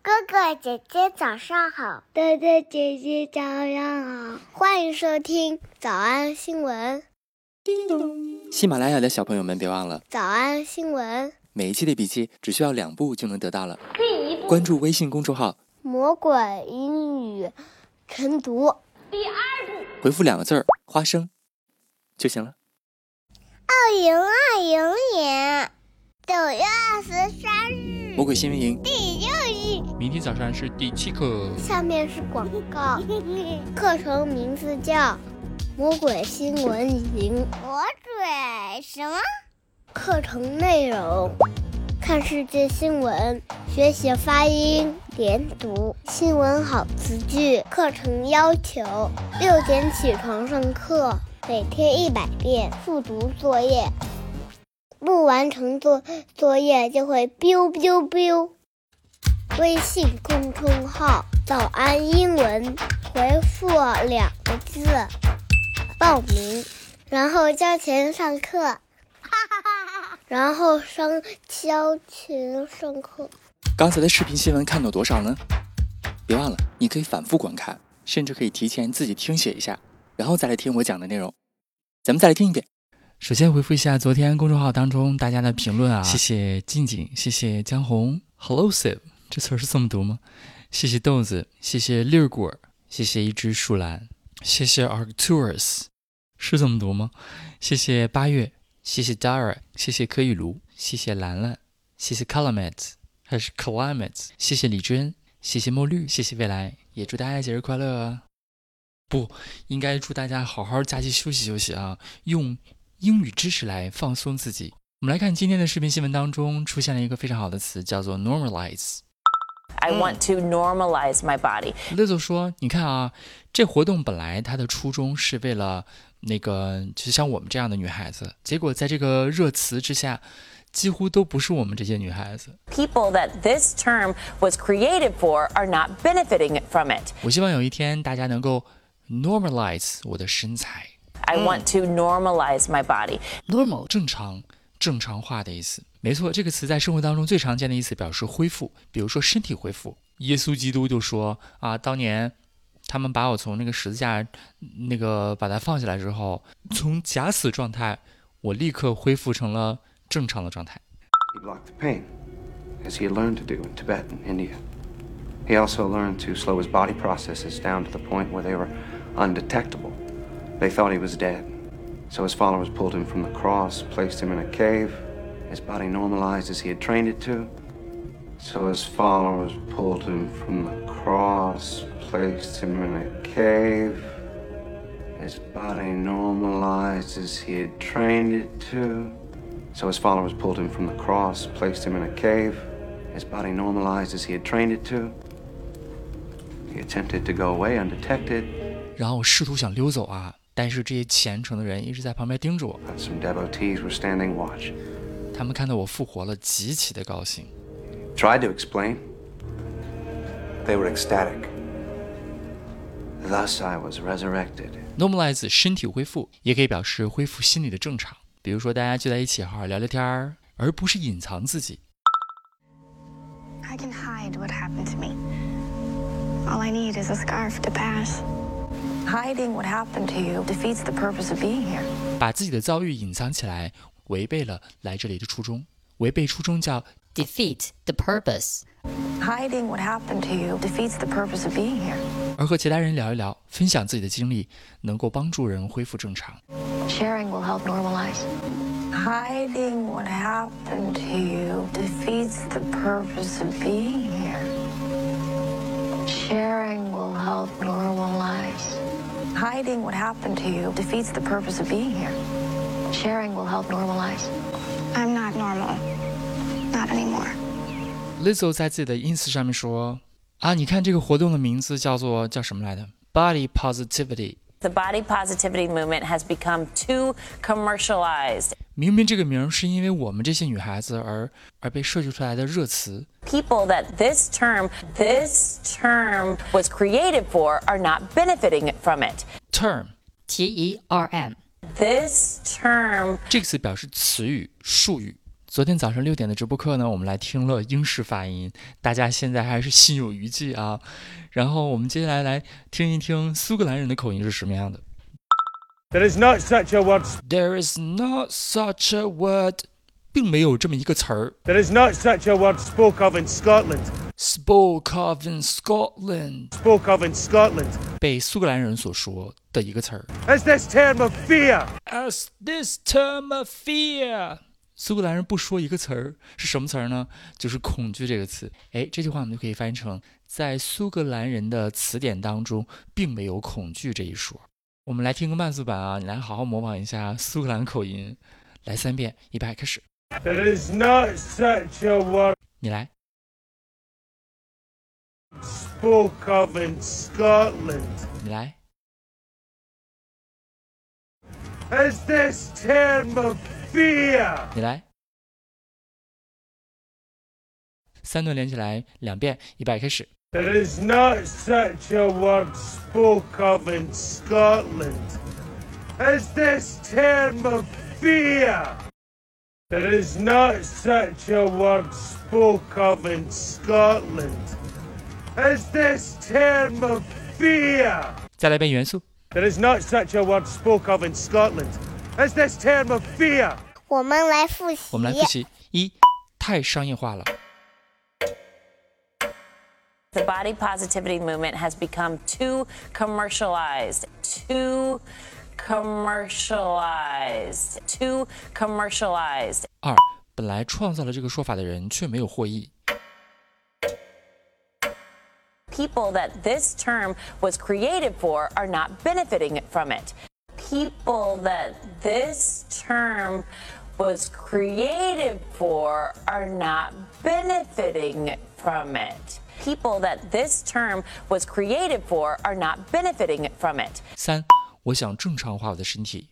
哥哥姐姐早上好， 哥哥姐姐早上好， 欢迎收听早安新闻。 叮咚！喜马拉雅的小朋友们别忘了早安新闻， 每一期的笔记只需要2步就能得到了。关注微信公众号魔鬼英语晨读。第2步， 回复2个字儿花生就行了。 2020年9月23日， 魔鬼新闻营第6日。 明天早上是第7课。 下面是广告，课程名字叫魔鬼新闻营。魔鬼什么？课程内容：看世界新闻，学习发音、连读，新闻好词句。课程要求6点起床上课，每天100遍复读作业，不完成作业就会 biu biu biu。微信公众号早安英文，回复2个字报名，然后交钱上课。然后交钱上课。 刚才的视频新闻看懂多少呢？别忘了你可以反复观看，甚至可以提前自己听写一下，然后再来听我讲的内容。咱们再来听一遍。 首先回复一下昨天公众号当中大家的评论啊，谢谢静静，谢谢江红 ，Hello，Sip， 这词儿是这么读吗？谢谢豆子，谢谢粒儿果，谢谢一只树兰，谢谢 Arcturus， 是这么读吗？谢谢8月，谢谢 Dara， 谢谢柯雨茹，谢谢兰兰，谢谢 Climate， 还是 Climate， 谢谢李真，谢谢墨绿，谢谢未来，也祝大家节日快乐啊！不，应该祝大家好好假期休息休息啊，用英语知识来放松自己。我们来看今天的视频新闻当中出现了一个非常好的词，叫做 normalize。I want to normalize my body. Lizzo 说，你看啊，这活动本来它的初衷是为了就像我们这样的女孩子，结果在这个热词之下，几乎都不是我们这些女孩子。 People that this term was created for are not benefiting from it. 我希望有一天大家能够 normalize 我的身材。 I want to normalize my body. Normal 正常化的意思。没错，这个词在生活当中最常见的意思表示恢复，比如说身体恢复。耶稣基督就说啊，当年他们把我从那个十字架把它放下来之后，从假死状态我立刻恢复成了正常的状态。 He blocked the pain, as he had learned to do in Tibet and India. He also learned to slow his body processes down to the point where they were undetectable. They thought he was dead, so his followers pulled him from the cross, placed him in a cave. His body normalized as he had trained it to. So his followers pulled him from the cross, placed him in a cave. His body normalized as he had trained it to. So his followers pulled him from the cross, placed him in a cave. His body normalized as he had trained it to. He attempted to go away undetected. 然后我试图想溜走啊，但是这些虔诚的人一直在旁边盯着我。 Some devotees were standing watch. 他们看到我复活了，极其的高兴。 Tried to explain. They were ecstatic. Thus I was resurrected. Normalize 身体恢复，也可以表示恢复心理的正常。比如说大家聚在一起好好聊聊天，而不是隐藏自己。 I can hide what happened to me. All I need is a scarf to pass. Hiding what happened to you defeats the purpose of being here. 把自己的遭遇隐藏起来，违背了来这里的初衷。违背初衷叫 defeat the purpose。 Hiding what happened to you defeats the purpose of being here. 而和其他人聊一聊，分享自己的经历，能够帮助人恢复正常。 Sharing will help normalize. Hiding what happened to you defeats the purpose of being here. Sharing will help normalize. Hiding what happened to you defeats the purpose of being here. Sharing will help normalize. I'm not normal. Not anymore. Lizzo 在自己的 ins 上面说啊，你看这个活动的名字叫什么来的 ？Body Positivity。 The body positivity movement has become too commercialized. 明明这个名是因为我们这些女孩子而被设计出来的热词。 People that this term was created for are not benefiting from it. Term T-E-R-M。 This term 这个词表示词语、术语， 昨天早上6点的直播课呢，我们来听了英式发音，大家现在还是心有余悸啊。然后我们接下来来听一听苏格兰人的口音是什么样的。 There is not such a word. There is not such a word， 并没有这么一个词儿。 There is not such a word spoke of in Scotland. Spoke of in Scotland， Spoke of in Scotland. 被苏格兰人所说的一个词儿。 As this term of fear. As this term of fear， 苏格兰人不说一个词儿，是什么词儿呢？就是恐惧这个词。哎，这句话我们就可以翻译成，在苏格兰人的词典当中，并没有恐惧这一说。我们来听个慢速版啊，你来好好模仿一下苏格兰口音，来3遍，预备开始。 There is not such a word 你来。 spoke of in Scotland. 你来。 As this term of fear. 你来。3段连起来2遍，预备开始。 There is not such a word spoke of in Scotland. As this term of fear. There is not such a word spoke of in Scotland. As this term of fear. 再来一遍元素。 There is not such a word spoke of in Scotland. As this term of fear. 我们来复习。 我们来复习。1. 太商业化了。 The body positivity movement has become too commercialized. Too commercialized. Too commercialized. 2. 本来创造了这个说法的人却没有获益。 People that this term was created for are not benefiting from it. People that this term was created for are not benefiting from it. People that this term was created for are not benefiting from it. 3. 我想正常化我的身体。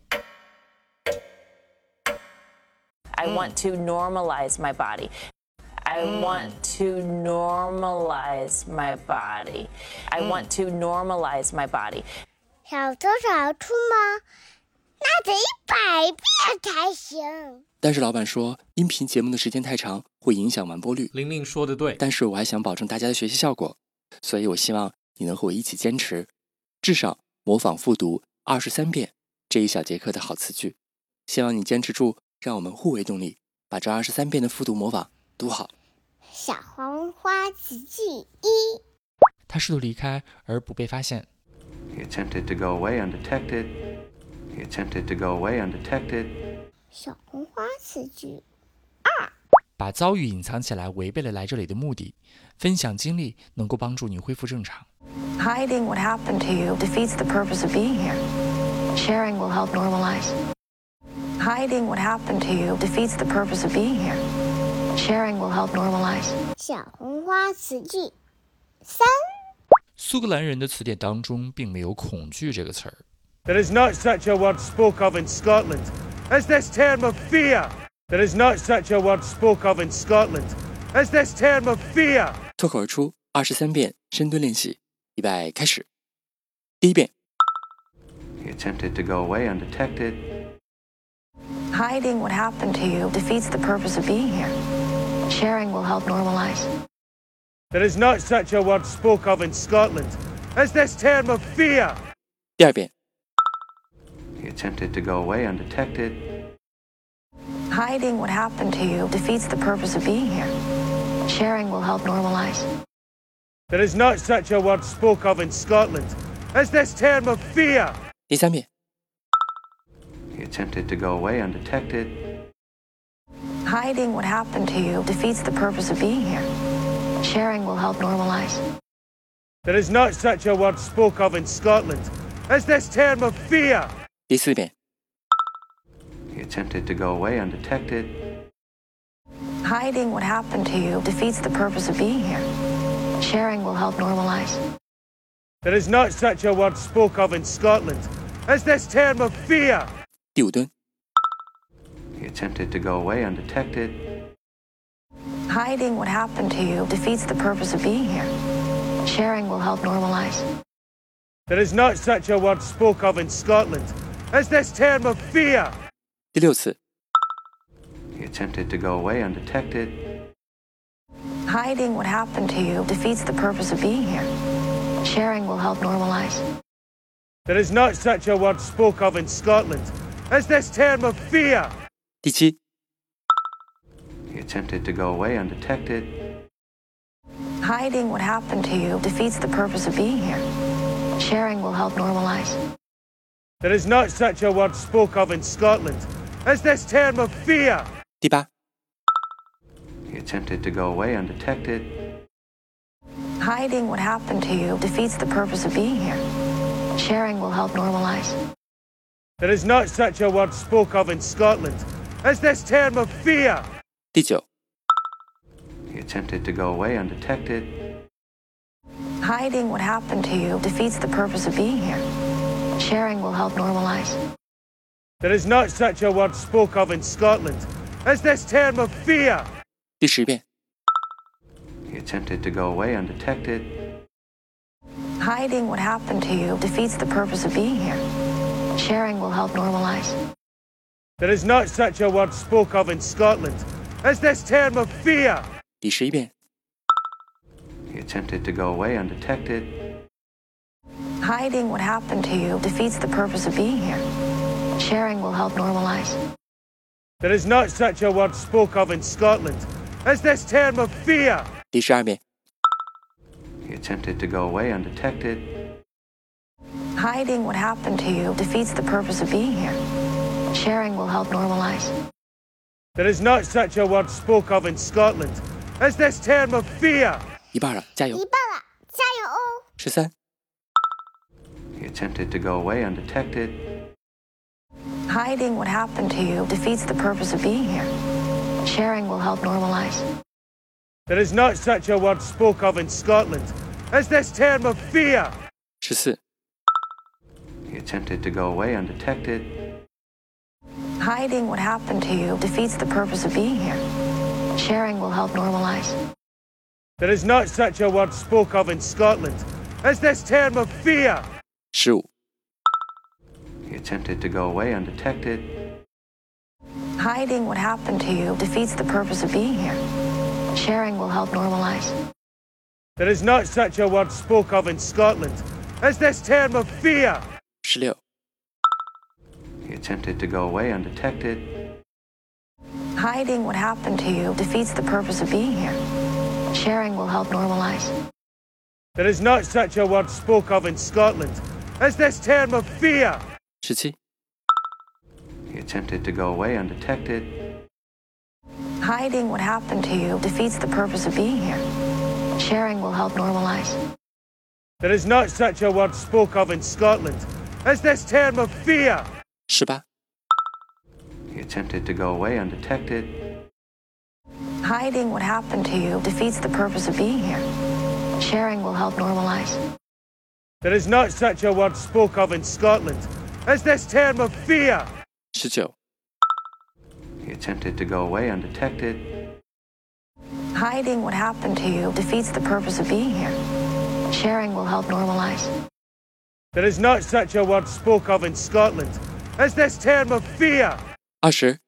I want to normalize my body. I want to normalize my body. I want to normalize my body. 小偷小兔吗？那得100遍才行。 但是老板说，音频节目的时间太长，会影响完播率。 玲玲说的对， 但是我还想保证大家的学习效果，所以我希望你能和我一起坚持，至少模仿复读23遍这一小节课的好词句。希望你坚持住，让我们互为动力，把这23遍的复读模仿读好。 小黄花词句1。 他试图离开而不被发现。 He attempted to go away undetected. He attempted to go away undetected. 小红花词句2。 把遭遇隐藏起来，违背了来这里的目的。分享经历能够帮助你恢复正常。 Hiding what happened to you defeats the purpose of being here. Sharing will help normalize. Hiding what happened to you defeats the purpose of being here. Sharing will help normalize. 小红花词句3。 苏格兰人的词典当中并没有恐惧这个词儿。 There is not such a word spoke of in Scotland. As this term of fear. There is not such a word spoke of in Scotland. As this term of fear. 脱口而出23遍深蹲练习，预备开始。第1遍。 He attempted to go away undetected. Hiding what happened to you defeats the purpose of being here. Sharing will help normalize. There is not such a word spoke of in Scotland. As this term of fear. 第2遍。 He attempted to go away undetected. Hiding what happened to you defeats the purpose of being here. Sharing will help normalize. There is not such a word spoke of in Scotland. As this term of fear. 第3遍。 He attempted to go away undetected. Hiding what happened to you defeats the purpose of being here. Sharing will help normalize. There is not such a word spoke of in Scotland. As this term of fear. 第4遍。 He attempted to go away undetected. Hiding what happened to you defeats the purpose of being here. Sharing will help normalize. There is not such a word spoke of in Scotland. As this term of fear. 第5蹲。 He attempted to go away undetected. Hiding what happened to you defeats the purpose of being here. Sharing will help normalize. There is not such a word spoke of in Scotland. As this term of fear. 第6次。 He attempted to go away undetected. Hiding what happened to you defeats the purpose of being here. Sharing will help normalize. There is not such a word spoke of in Scotland as this term of fear. 第7， He attempted to go away undetected. Hiding what happened to you defeats the purpose of being here. Sharing will help normalize. There is not such a word spoke of in Scotland as this term of fear. 第8， He attempted to go away undetected. Hiding what happened to you defeats the purpose of being here. Sharing will help normalize. There is not such a word spoke of in Scotland as this term of fear. 第9， He attempted to go away undetected. Hiding what happened to you defeats the purpose of being here. Sharing will help normalize. There is not such a word spoke of in Scotland as this term of fear. 第10遍， He attempted to go away undetected. Hiding what happened to you defeats the purpose of being here. Sharing will help normalize. There is not such a word spoke of in Scotland as this term of fear. 第11遍， He attempted to go away undetected. Hiding what happened to you defeats the purpose of being here. Sharing will help normalize. There is not such a word spoke of in Scotland as this term of fear. 第12遍， He attempted to go away undetected. Hiding what happened to you defeats the purpose of being here. Sharing will help normalize. There is not such a word spoke of in Scotland as this term of fear. 一半了，加油一！半了，加油哦！ 13， He attempted to go away undetected. Hiding what happened to you defeats the purpose of being here. Sharing will help normalize. There is not such a word spoke of in Scotland as this term of fear. 14， He attempted to go away undetected. Hiding what happened to you defeats the purpose of being here. Sharing will help normalize. There is not such a word spoke of in Scotland as this term of fear. 15， He attempted to go away undetected. Hiding what happened to you defeats the purpose of being here. Sharing will help normalize. There is not such a word spoke of in Scotland as this term of fear. 16， He attempted to go away undetected. Hiding what happened to you defeats the purpose of being here. Sharing will help normalize. There is not such a word spoke of in Scotland as this term of fear. 17， He attempted to go away undetected. Hiding what happened to you defeats the purpose of being here. Sharing will help normalize. There is not such a word spoke of in Scotland as this term of fear. 18， He attempted to go away undetected. Hiding what happened to you defeats the purpose of being here. Sharing will help normalize. There is not such a word spoke of in Scotland as this term of fear. 19， He attempted to go away undetected. Hiding what happened to you defeats the purpose of being here. Sharing will help normalize. There is not such a word spoke of in Scotland as this term of fear. 20，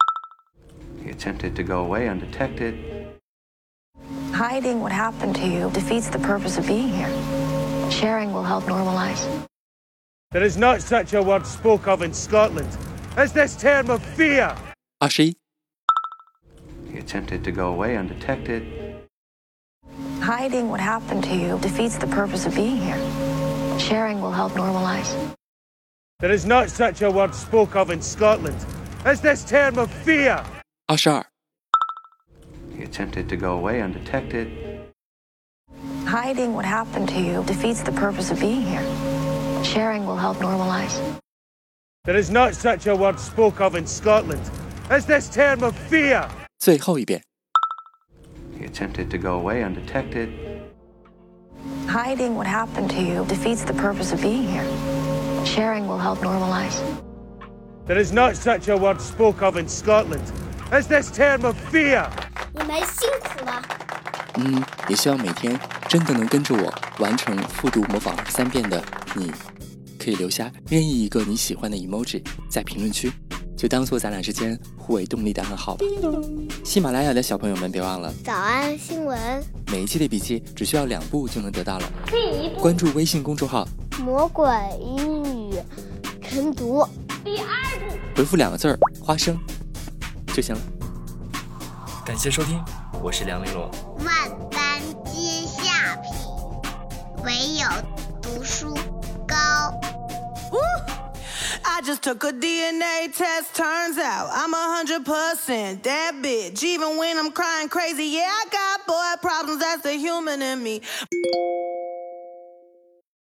He attempted to go away undetected. Hiding what happened to you defeats the purpose of being here. Sharing will help normalize. There is not such a word spoke of in Scotland as this term of fear. 21， He attempted to go away undetected. Hiding what happened to you defeats the purpose of being here. Sharing will help normalize. There is not such a word spoke of in Scotland as this term of fear. 22， He attempted to go away undetected. Hiding what happened to you defeats the purpose of being here. Sharing will help normalize. There is not such a word spoke of in Scotland as this term of fear. 最后一遍。 He attempted to go away undetected. Hiding what happened to you defeats the purpose of being here. Sharing will help normalize. There is not such a word spoke of in Scotland as this term of fear. 你们辛苦了。 也希望每天真的能跟着我完成复读模仿23遍的你，可以留下任意一个你喜欢的 emoji 在评论区， 就当做咱俩之间互为动力的暗号吧。喜马拉雅的小朋友们别忘了早安新闻， 每一期的笔记只需要2步就能得到了。第1步，关注微信公众号魔鬼英语晨读。 第2步， 回复2个字花生就行了。 感谢收听，我是梁玲珑。 万般皆下品，唯有读书高。 I just took a DNA test, turns out I'm 100% that bitch. Even when I'm crying crazy, yeah, I got boy problems, that's the human in me.